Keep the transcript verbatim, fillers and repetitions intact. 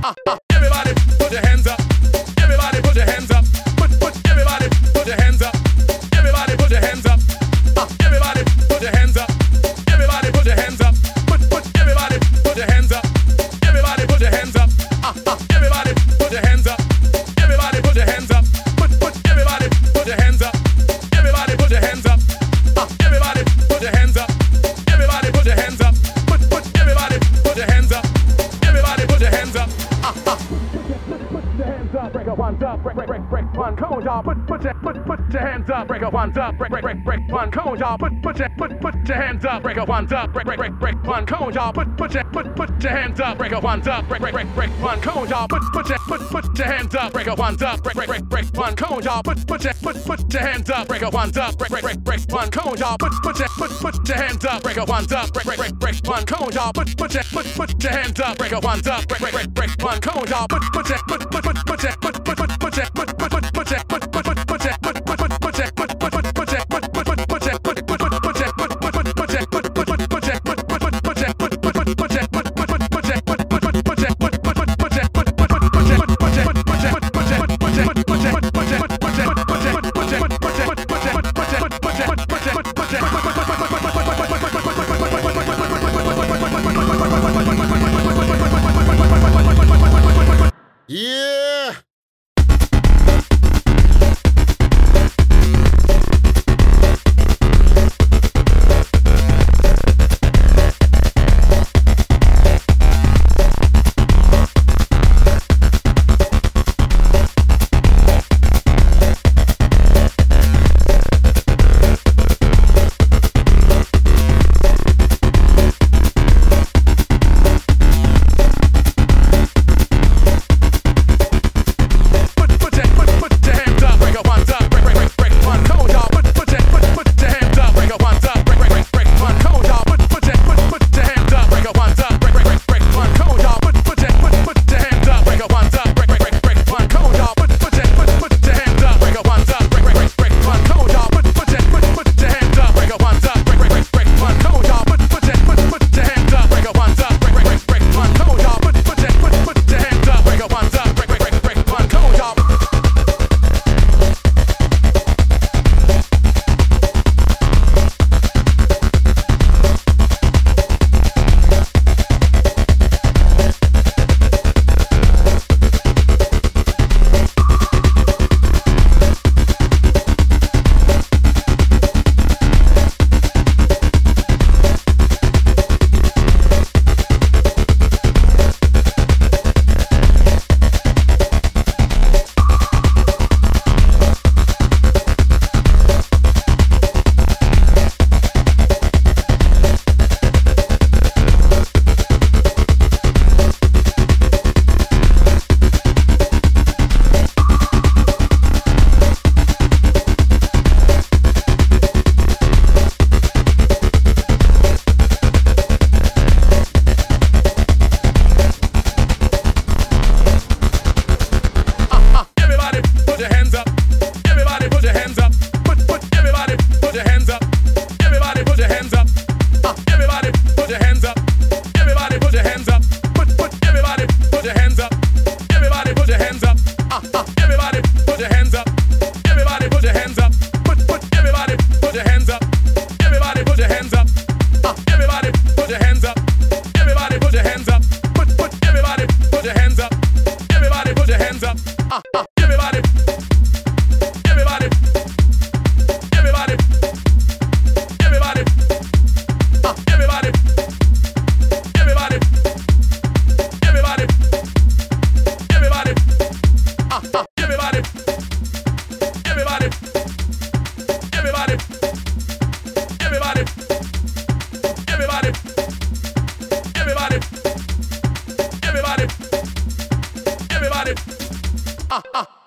Uh, uh, everybody put your hands up. Everybody put your hands up. Put, put, everybody put your hands up. Everybody put your hands up. Uh, everybody put your hands up. Everybody put your hands up. Put, put, everybody put your hands up. Everybody put your hands up. Uh, uh, everybody put your hands up. Everybody put your hands up. Put, put, everybody put your hands up. Everybody put your hands up. Uh, everybody put your hands up. Everybody put your hands up. Put, put, everybody put your hands up. Everybody put your hands up. Uh, uh. Put your hands up, break a one up, break, break, break, break one cone, y'all. Put, put your, put, put your hands up, break a one up, break, break, break, break one cone, y'all. Put, put your, put, put your hands up, break a one up, break, break, break, break one cone, y'all. Put, put your, put, put your hands up, break a one up, break, break, break, break one cone, y'all. Put, put your, put, put your hands up, break a one up, break, break, break, break one cone, y'all. Put, put your, put, put your hands up, break a one up, break, break, break, break one cone, y'all. Put, put your, put, put your hands up, break a one up, break, break, break, break one cone, y'all. Put, put your, put, put your hands up, break a one up, break, break, break, break one cone, y'all. Put, put your, put, put, put, put your, put, put, put, put your, put, put, put, put your, put, put, put, put your, put, put, put, put your, put, put, put, put your, put, put, put, put your, put, put, put, put your, put, put, put, put your, put, put, put, put your, put, put, put, put your, put, put, put, put your, put, put, put, put your, put, put, put, put your, put, put, put, put your, put, put, put, put your, put, put, put, put your, put, put, put your, put, put, put, put your, put, put, put, put your, put, put, put, put, put your, put, put, put, put, put your, put, put, put, put your, put, put, put, put your, Yeah. Uh, uh.